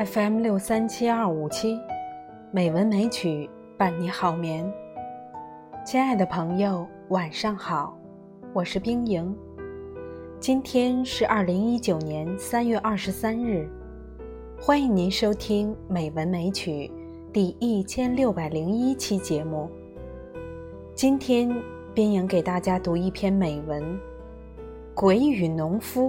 FM637257，美文美曲伴你好眠。亲爱的朋友，晚上好，我是冰莹。今天是2019年3月23日，欢迎您收听美文美曲第1601期节目。今天冰莹给大家读一篇美文《鬼与农夫》。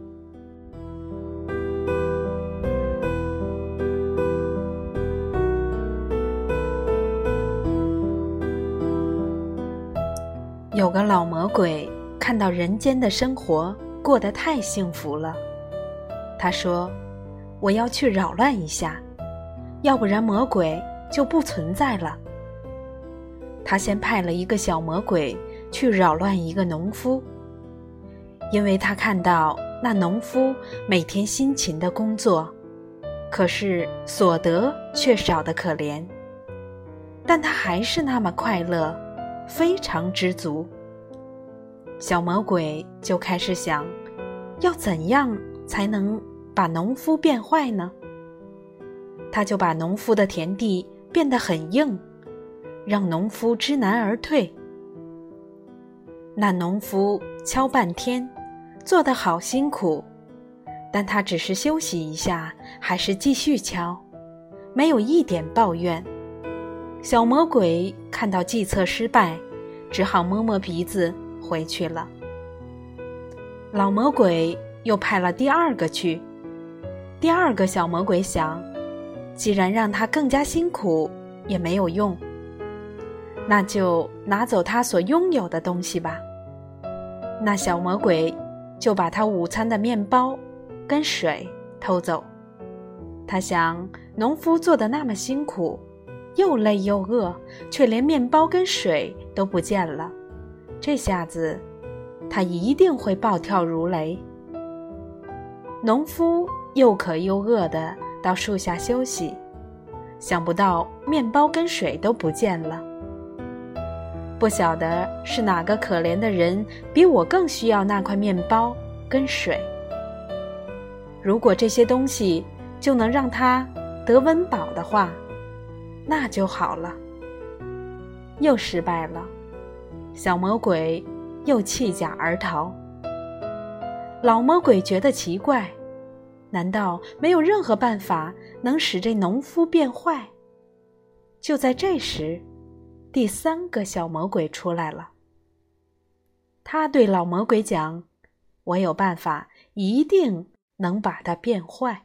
有个老魔鬼看到人间的生活过得太幸福了，他说：我要去扰乱一下，要不然魔鬼就不存在了。他先派了一个小魔鬼去扰乱一个农夫，因为他看到那农夫每天辛勤的工作，可是所得却少得可怜，但他还是那么快乐，非常知足。小魔鬼就开始想，要怎样才能把农夫变坏呢？他就把农夫的田地变得很硬，让农夫知难而退。那农夫敲半天，做得好辛苦，但他只是休息一下，还是继续敲，没有一点抱怨。小魔鬼看到计策失败，只好摸摸鼻子回去了。老魔鬼又派了第二个去，第二个小魔鬼想，既然让他更加辛苦也没有用，那就拿走他所拥有的东西吧。那小魔鬼就把他午餐的面包跟水偷走。他想，农夫做得那么辛苦，又累又饿，却连面包跟水都不见了，这下子他一定会暴跳如雷。农夫又渴又饿地到树下休息，想不到面包跟水都不见了。不晓得是哪个可怜的人比我更需要那块面包跟水。如果这些东西就能让他得温饱的话，那就好了。又失败了，小魔鬼又弃甲而逃。老魔鬼觉得奇怪，难道没有任何办法能使这农夫变坏？就在这时，第三个小魔鬼出来了。他对老魔鬼讲，我有办法，一定能把它变坏。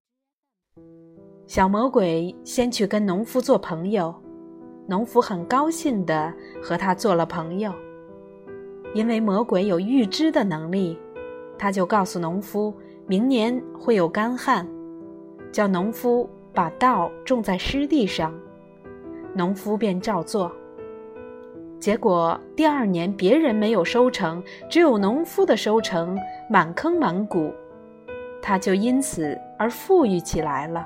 小魔鬼先去跟农夫做朋友，农夫很高兴地和他做了朋友。因为魔鬼有预知的能力，他就告诉农夫明年会有干旱，叫农夫把稻种在湿地上，农夫便照做。结果第二年别人没有收成，只有农夫的收成满坑满谷，他就因此而富裕起来了。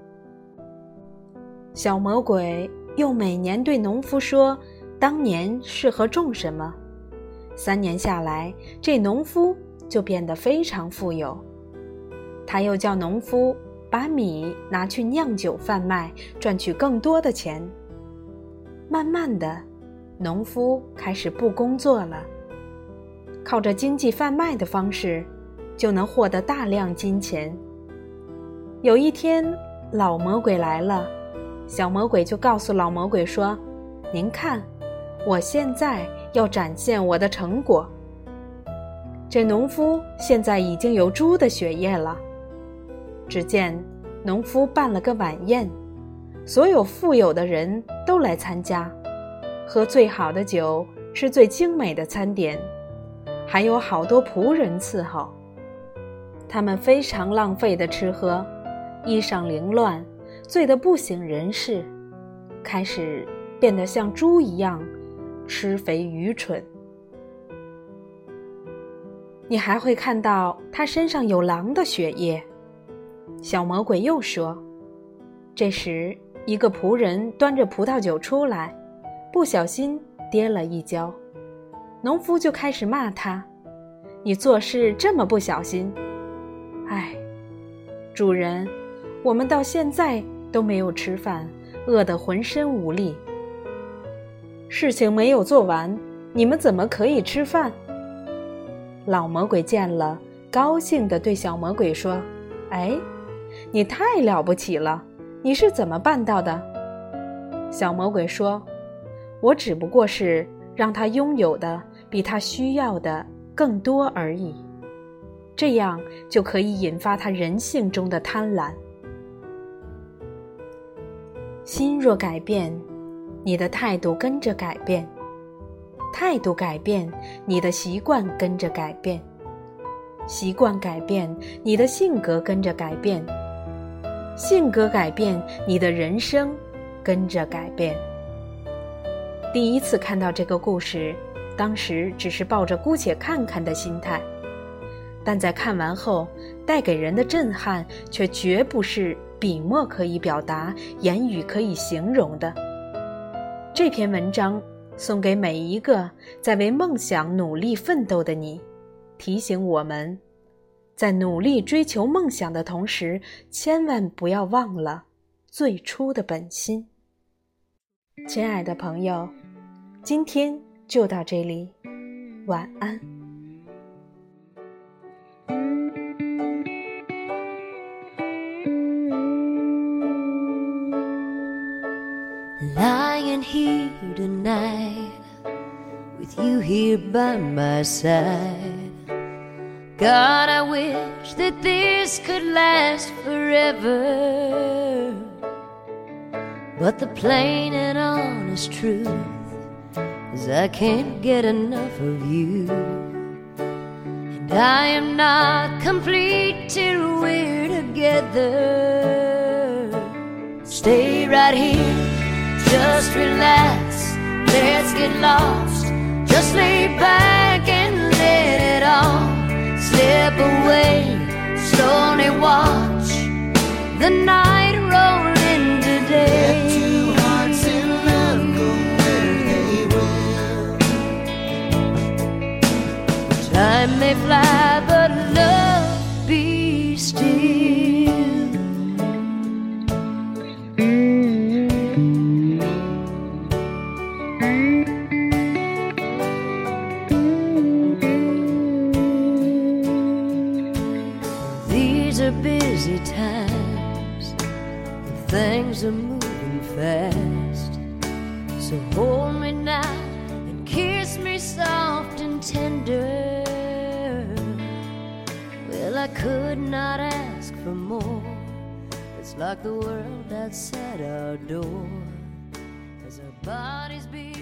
小魔鬼又每年对农夫说，当年适合种什么。3年下来，这农夫就变得非常富有。他又叫农夫把米拿去酿酒贩卖，赚取更多的钱。慢慢的，农夫开始不工作了，靠着经济贩卖的方式，就能获得大量金钱。有一天，老魔鬼来了，小魔鬼就告诉老魔鬼说，您看，我现在要展现我的成果。这农夫现在已经有猪的血液了。只见农夫办了个晚宴，所有富有的人都来参加，喝最好的酒，吃最精美的餐点，还有好多仆人伺候。他们非常浪费的吃喝，衣裳凌乱，醉得不省人事，开始变得像猪一样吃肥愚蠢。你还会看到他身上有狼的血液。小魔鬼又说，这时一个仆人端着葡萄酒出来，不小心跌了一跤，农夫就开始骂他，你做事这么不小心。哎，主人， 我们到现在都没有吃饭，饿得浑身无力。事情没有做完，你们怎么可以吃饭？老魔鬼见了，高兴地对小魔鬼说：哎，你太了不起了，你是怎么办到的？小魔鬼说：我只不过是让他拥有的比他需要的更多而已，这样就可以引发他人性中的贪婪。心若改变，你的态度跟着改变；态度改变，你的习惯跟着改变；习惯改变，你的性格跟着改变；性格改变，你的人生跟着改变。第一次看到这个故事，当时只是抱着姑且看看的心态，但在看完后，带给人的震撼却绝不是笔墨可以表达、言语可以形容的。这篇文章送给每一个在为梦想努力奋斗的你，提醒我们，在努力追求梦想的同时，千万不要忘了最初的本心。亲爱的朋友，今天就到这里，晚安。 Lying here tonight, with you here by my side. God, I wish that this could last forever. But the plain and honest truth is I can't get enough of you. And I am not complete till we're together. Stay right here, just relax, let's get lost. Just lay back and let it all slip away. Slowly watch the night roll into day. Let two hearts in love go where they will. Time may fly, but love be still. These are busy times, and things are moving fast. So hold me now and kiss me soft and tender. Well, I could not ask for more. It's like the world outside our door, as our bodies beat